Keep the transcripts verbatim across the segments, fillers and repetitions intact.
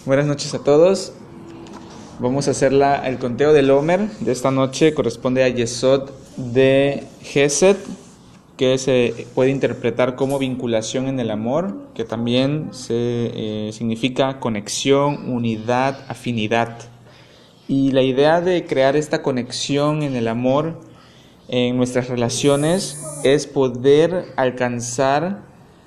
Buenas noches a todos. Vamos a hacer la, el conteo del Omer de esta noche. Corresponde a Yesod de Gesed, que se puede interpretar como vinculación en el amor, que también se, eh, significa conexión, unidad, afinidad. Y la idea de crear esta conexión en el amor, en nuestras relaciones, es poder alcanzar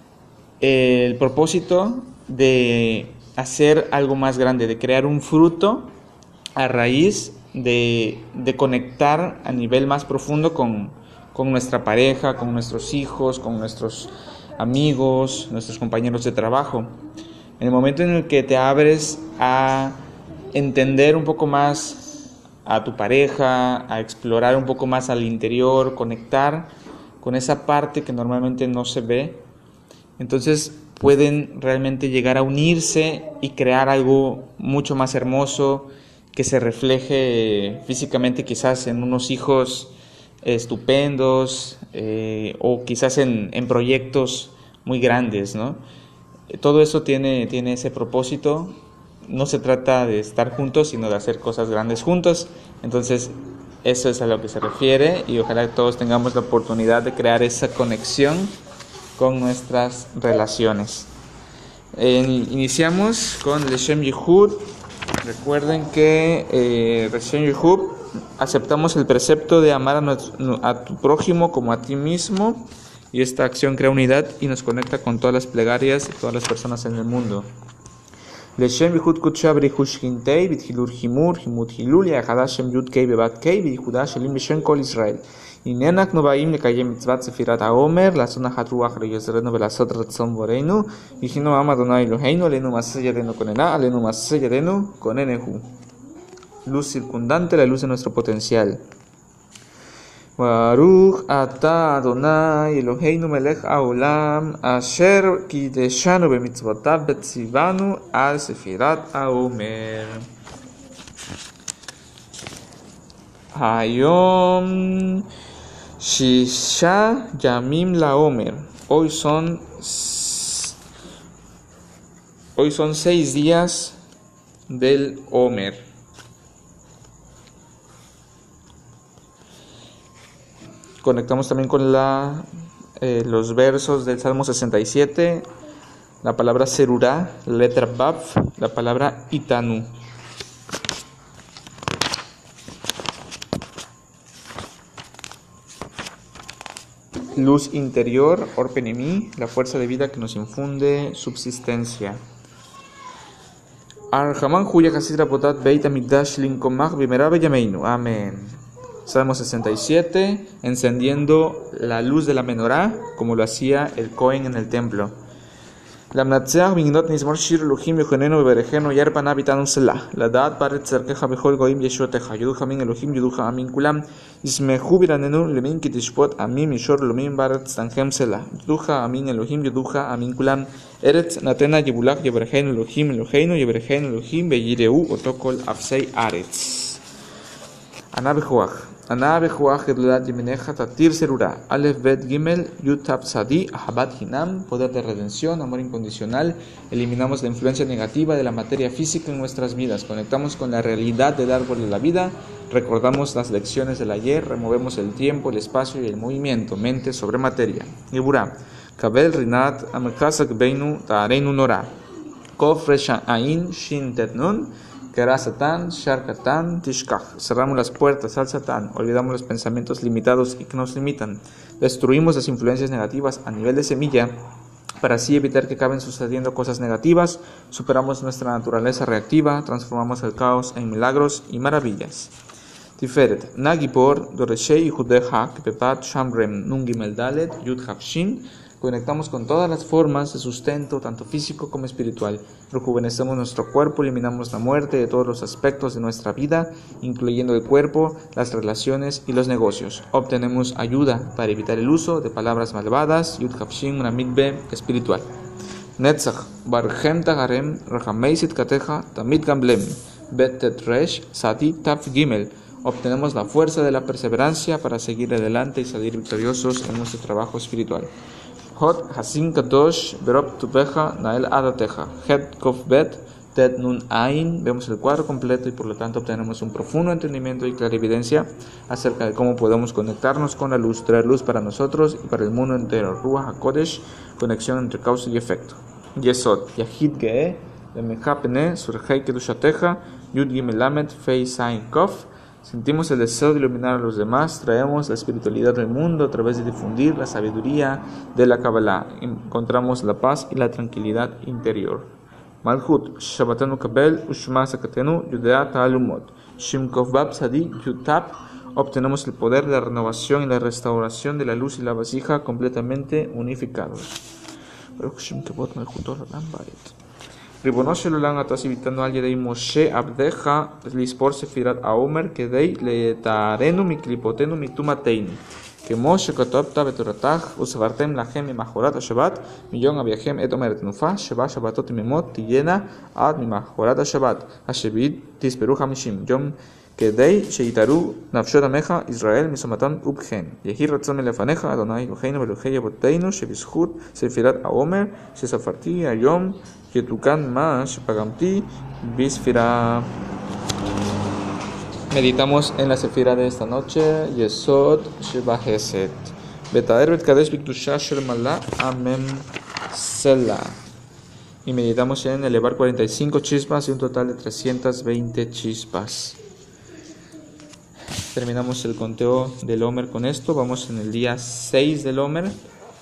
el propósito de hacer algo más grande, de crear un fruto a raíz de, de conectar a nivel más profundo con, con nuestra pareja, con nuestros hijos, con nuestros amigos, nuestros compañeros de trabajo. En el momento en el que te abres a entender un poco más a tu pareja, a explorar un poco más al interior, conectar con esa parte que normalmente no se ve, entonces pueden realmente llegar a unirse y crear algo mucho más hermoso que se refleje físicamente quizás en unos hijos estupendos eh, o quizás en, en proyectos muy grandes, ¿no? Todo eso tiene, tiene ese propósito. No se trata de estar juntos, sino de hacer cosas grandes juntos. Entonces, eso es a lo que se refiere y ojalá todos tengamos la oportunidad de crear esa conexión con nuestras relaciones. Eh, iniciamos con Leshem Yehud. Recuerden que eh, Leshem Yehud aceptamos el precepto de amar a, nuestro, a tu prójimo como a ti mismo, y esta acción crea unidad y nos conecta con todas las plegarias de todas las personas en el mundo. Leshem Yehud Kutsha Brihush Hintei Bithilur Himur Himut Hilul Yahadashem Yud Kei Bebat Kei Bihudash Elim Beshem Kol Israel. Inenak Nobaim Lekayem Mitzvat Sefirat HaOmer Lasona Hatruach Reyezerenu Velasot Ratzon Borenu Vihino Am Adonai Eloheinu Alenu Maseh Yadenu Konena Alenu Maseh Yadenu Konenehu. Luz circundante, la luz de nuestro potencial. Baruch Ata Adonai Eloheinu Melech HaOlam Asher Kideshanu Bemitzvotav Betzivanu Al Sefirat HaOmer. Hayom Shisha Yamim Laomer. Hoy son Hoy son seis días del Omer. Conectamos también con la eh, los versos del Salmo sesenta y siete, la palabra Serurá, la letra Bav, la palabra Itanu. Luz interior, Orpenemi, la fuerza de vida que nos infunde subsistencia. Arhaman Huya Hasidra Potat Beit Amigdash Linkomach Bimerabe Yameinu. Amén. Salmo sesenta y siete, encendiendo la luz de la menorá, como lo hacía el Cohen en el templo. Lamnatzeach Mignot Nismor Shir Elohim Yohenenu Beberejenu Yarpan Abitanum Selah. La Dad Paret Cerkeja Bejol Goim Yeshoteja. Yuduja Min Elohim Yuduja Amin Kulam. Ismehu Biranenu Lemin Kitishpot Amim Mishor Lomim Baret Stangem Selah. Yuduja Amin Elohim Yuduja Amin Kulam. Eretz Natena Yebulach Yeberejenu Elohim Eloheinu Yeberejenu Elohim Beyireu Otokol Afsei Aretz. Anabehuach. Anabehuach Gedlat Yemineja Tatir Serura. Alef Bet Gimel Yutab Sadi Ahabat Hinam. Poder de redención, amor incondicional. Eliminamos la influencia negativa de la materia física en nuestras vidas. Conectamos con la realidad del árbol de la vida. Recordamos las lecciones del ayer. Removemos el tiempo, el espacio y el movimiento. Mente sobre materia. Ibura. Kabel Rinat Amekasak Beinu Taareinu Nora. Kof Resha Ain Shin Tetnun. Kera Satán, Shar Katan, Tishkach. Cerramos las puertas al Satán, olvidamos los pensamientos limitados y que nos limitan. Destruimos las influencias negativas a nivel de semilla para así evitar que acaben sucediendo cosas negativas. Superamos nuestra naturaleza reactiva, transformamos el caos en milagros y maravillas. Tiferet, Nagipor, Doreshei Judeha, Kepepat, Shamrem, Nungimel Dalet, Yud Hafshin. Conectamos con todas las formas de sustento, tanto físico como espiritual. Rejuvenecemos nuestro cuerpo, eliminamos la muerte de todos los aspectos de nuestra vida, incluyendo el cuerpo, las relaciones y los negocios. Obtenemos ayuda para evitar el uso de palabras malvadas. Yud Hafshin, una mitbe espiritual. Netzach, Barhem Tagarem, Rahameisit Kateja, Tamid Gamblem, Betet Resh, Sati Taf Gimel. Obtenemos la fuerza de la perseverancia para seguir adelante y salir victoriosos en nuestro trabajo espiritual. Hot Hasin Kadosh Berob Tupeja Nael Adateja Het Kof Bet Tet Nun Ain, vemos el cuadro completo y por lo tanto obtenemos un profundo entendimiento y clarividencia acerca de cómo podemos conectarnos con la luz, traer luz para nosotros y para el mundo entero. Ruach HaKodesh, conexión entre causa y efecto. Yesod, Yahid Ge'eh, Lemechapene, Surhei Kedushateja, Yud Gimel Lamed, Fei Sain Kof. Sentimos el deseo de iluminar a los demás, traemos la espiritualidad del mundo a través de difundir la sabiduría de la Kabbalah. Encontramos la paz y la tranquilidad interior. Malchut, Shabbatenu Kabel, Ushma Sakatenu, Yudea Ta'alumot. Shimkov Bab Sadi, Yutap. Obtenemos el poder de la renovación y la restauración de la luz y la vasija completamente unificados. Ribono shel olam, אתה ציוויתנו על ידי משה עבדך לספור ספירת העומר כדי לטהרנו מקליפותינו מטומאתנו, כמו שכתבת בתורתך, וספרתם לכם ממחרת השבת מיום אביכם את עומר תנופה, שבע שבתות תמימות תהיינה עד ממחרת השבת, השביעית תספרו חמישים יום, כדי שיתארו נפשות עמך ישראל משמתם ובכן. יהי רצון מלפניך, אדוני אלוהינו ואלוהי אבותינו, שבזכות ספירת העומר שספרתי היום יתוקן מה שפגמתי בספירה. Meditamos en la sefira de esta noche, Yesod Sheba Hesed. Betaer Bet Kadesh Biktusha Shel Malá, Amem Selah. Y meditamos en elevar cuarenta y cinco chispas y un total de trescientas veinte chispas. Terminamos el conteo del Omer con esto. Vamos en el día seis del Omer.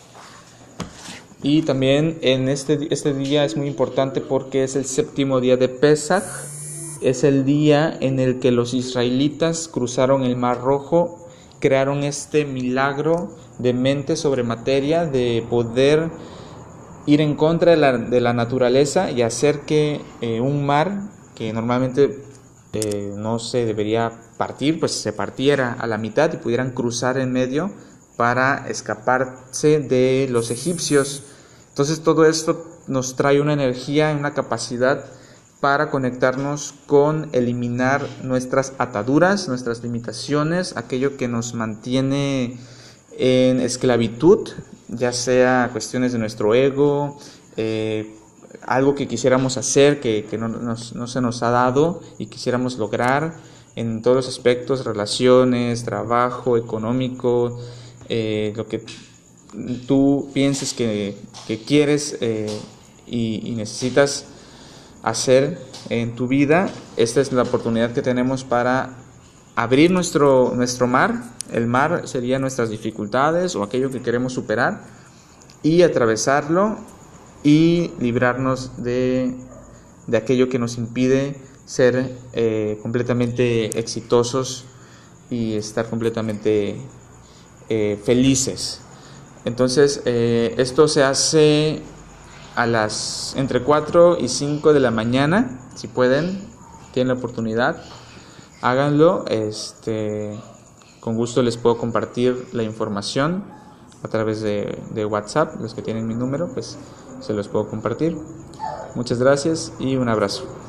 Y también en este, este día es muy importante porque es el séptimo día de Pesach. Es el día en el que los israelitas cruzaron el Mar Rojo, crearon este milagro de mente sobre materia, de poder ir en contra de la, de la naturaleza y hacer que eh, un mar que normalmente eh, no se debería partir, pues se partiera a la mitad y pudieran cruzar en medio para escaparse de los egipcios. Entonces todo esto nos trae una energía, una capacidad para conectarnos con eliminar nuestras ataduras, nuestras limitaciones, aquello que nos mantiene en esclavitud, ya sea cuestiones de nuestro ego, eh, algo que quisiéramos hacer que, que no, nos, no se nos ha dado y quisiéramos lograr en todos los aspectos, relaciones, trabajo, económico, eh, lo que tú pienses que, que quieres eh, y, y necesitas hacer en tu vida. Esta es la oportunidad que tenemos para abrir nuestro, nuestro mar. El mar sería nuestras dificultades o aquello que queremos superar y atravesarlo y librarnos de, de aquello que nos impide ser eh, completamente exitosos y estar completamente eh, felices. Entonces eh, esto se hace a las entre cuatro y cinco de la mañana, si pueden, tienen la oportunidad, háganlo. Este, con gusto les puedo compartir la información a través de, de WhatsApp. Los que tienen mi número, pues se los puedo compartir. Muchas gracias y un abrazo.